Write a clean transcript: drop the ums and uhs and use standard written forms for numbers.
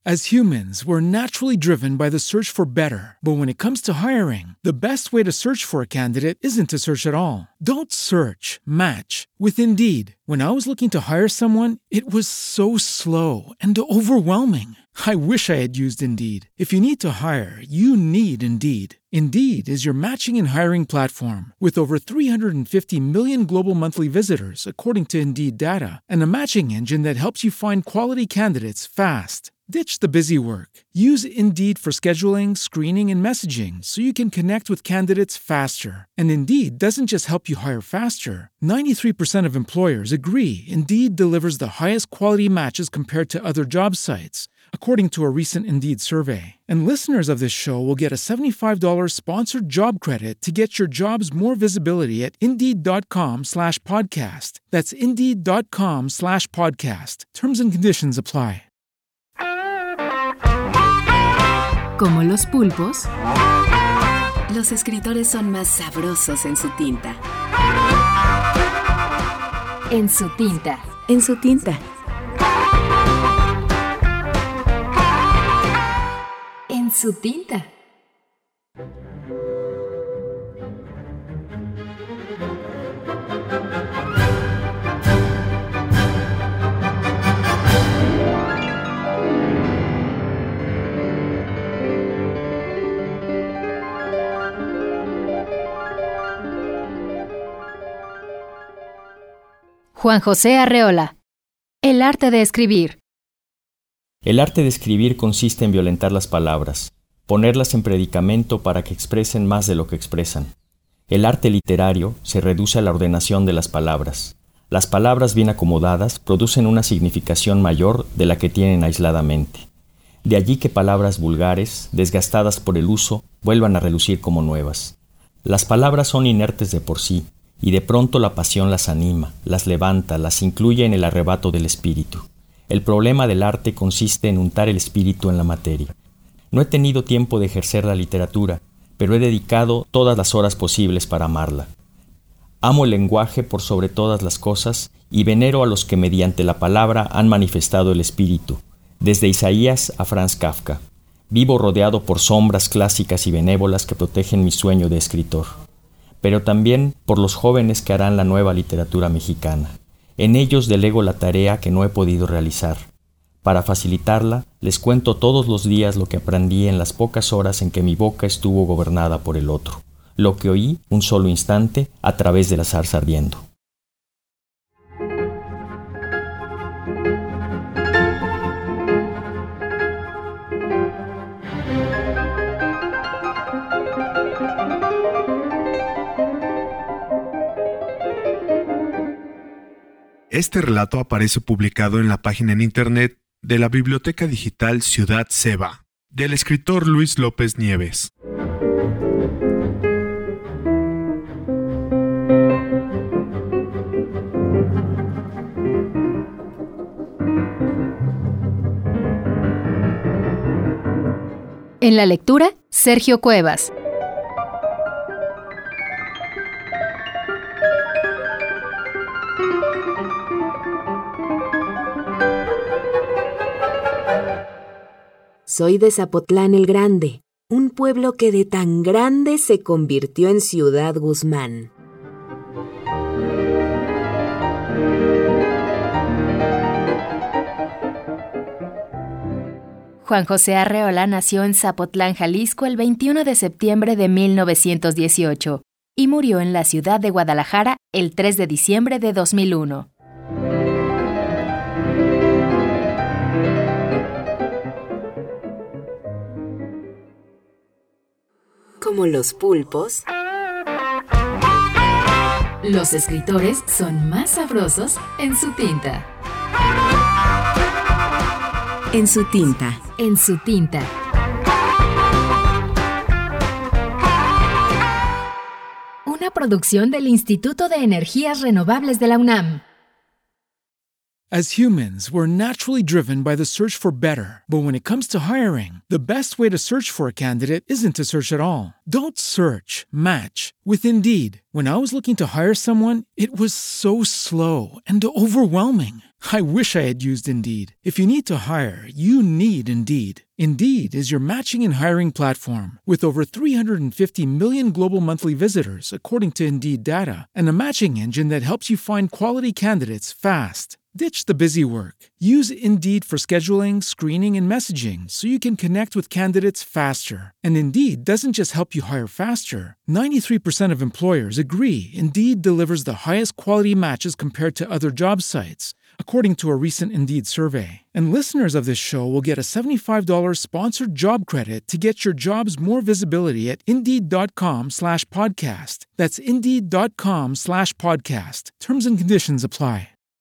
As humans, we're naturally driven by the search for better. But when it comes to hiring, the best way to search for a candidate isn't to search at all. Don't search, match with Indeed. When I was looking to hire someone, it was so slow and overwhelming. I wish I had used Indeed. If you need to hire, you need Indeed. Indeed is your matching and hiring platform with over 350 million global monthly visitors, according to Indeed data, and a matching engine that helps you find quality candidates fast. Ditch the busy work. Use Indeed for scheduling, screening, and messaging so you can connect with candidates faster. And Indeed doesn't just help you hire faster. 93% of employers agree Indeed delivers the highest quality matches compared to other job sites, according to a recent Indeed survey. And listeners of this show will get a $75 sponsored job credit to get your jobs more visibility at Indeed.com/podcast. That's Indeed.com/podcast. Terms and conditions apply. Como los pulpos, los escritores son más sabrosos en su tinta. En su tinta. En su tinta. En su tinta. Juan José Arreola. El arte de escribir. El arte de escribir consiste en violentar las palabras, ponerlas en predicamento para que expresen más de lo que expresan. El arte literario se reduce a la ordenación de las palabras. Las palabras bien acomodadas producen una significación mayor de la que tienen aisladamente. De allí que palabras vulgares, desgastadas por el uso, vuelvan a relucir como nuevas. Las palabras son inertes de por sí, y de pronto la pasión las anima, las levanta, las incluye en el arrebato del espíritu. El problema del arte consiste en untar el espíritu en la materia. No he tenido tiempo de ejercer la literatura, pero he dedicado todas las horas posibles para amarla. Amo el lenguaje por sobre todas las cosas y venero a los que mediante la palabra han manifestado el espíritu, desde Isaías a Franz Kafka. Vivo rodeado por sombras clásicas y benévolas que protegen mi sueño de escritor, pero también por los jóvenes que harán la nueva literatura mexicana. En ellos delego la tarea que no he podido realizar. Para facilitarla, les cuento todos los días lo que aprendí en las pocas horas en que mi boca estuvo gobernada por el otro, lo que oí un solo instante a través de la zarza ardiendo. Este relato aparece publicado en la página en internet de la Biblioteca Digital Ciudad Ceba, del escritor Luis López Nieves. En la lectura, Sergio Cuevas. Soy de Zapotlán el Grande, un pueblo que de tan grande se convirtió en Ciudad Guzmán. Juan José Arreola nació en Zapotlán, Jalisco, el 21 de septiembre de 1918 y murió en la ciudad de Guadalajara el 3 de diciembre de 2001. Como los pulpos, los escritores son más sabrosos en su tinta. en su tinta. En su tinta. Una producción del Instituto de Energías Renovables de la UNAM. As humans, we're naturally driven by the search for better. But when it comes to hiring, the best way to search for a candidate isn't to search at all. Don't search, match with Indeed. When I was looking to hire someone, it was so slow and overwhelming. I wish I had used Indeed. If you need to hire, you need Indeed. Indeed is your matching and hiring platform with over 350 million global monthly visitors, according to Indeed data, and a matching engine that helps you find quality candidates fast. Ditch the busy work. Use Indeed for scheduling, screening, and messaging so you can connect with candidates faster. And Indeed doesn't just help you hire faster. 93% of employers agree Indeed delivers the highest quality matches compared to other job sites, according to a recent Indeed survey. And listeners of this show will get a $75 sponsored job credit to get your jobs more visibility at Indeed.com/podcast. That's Indeed.com/podcast. Terms and conditions apply.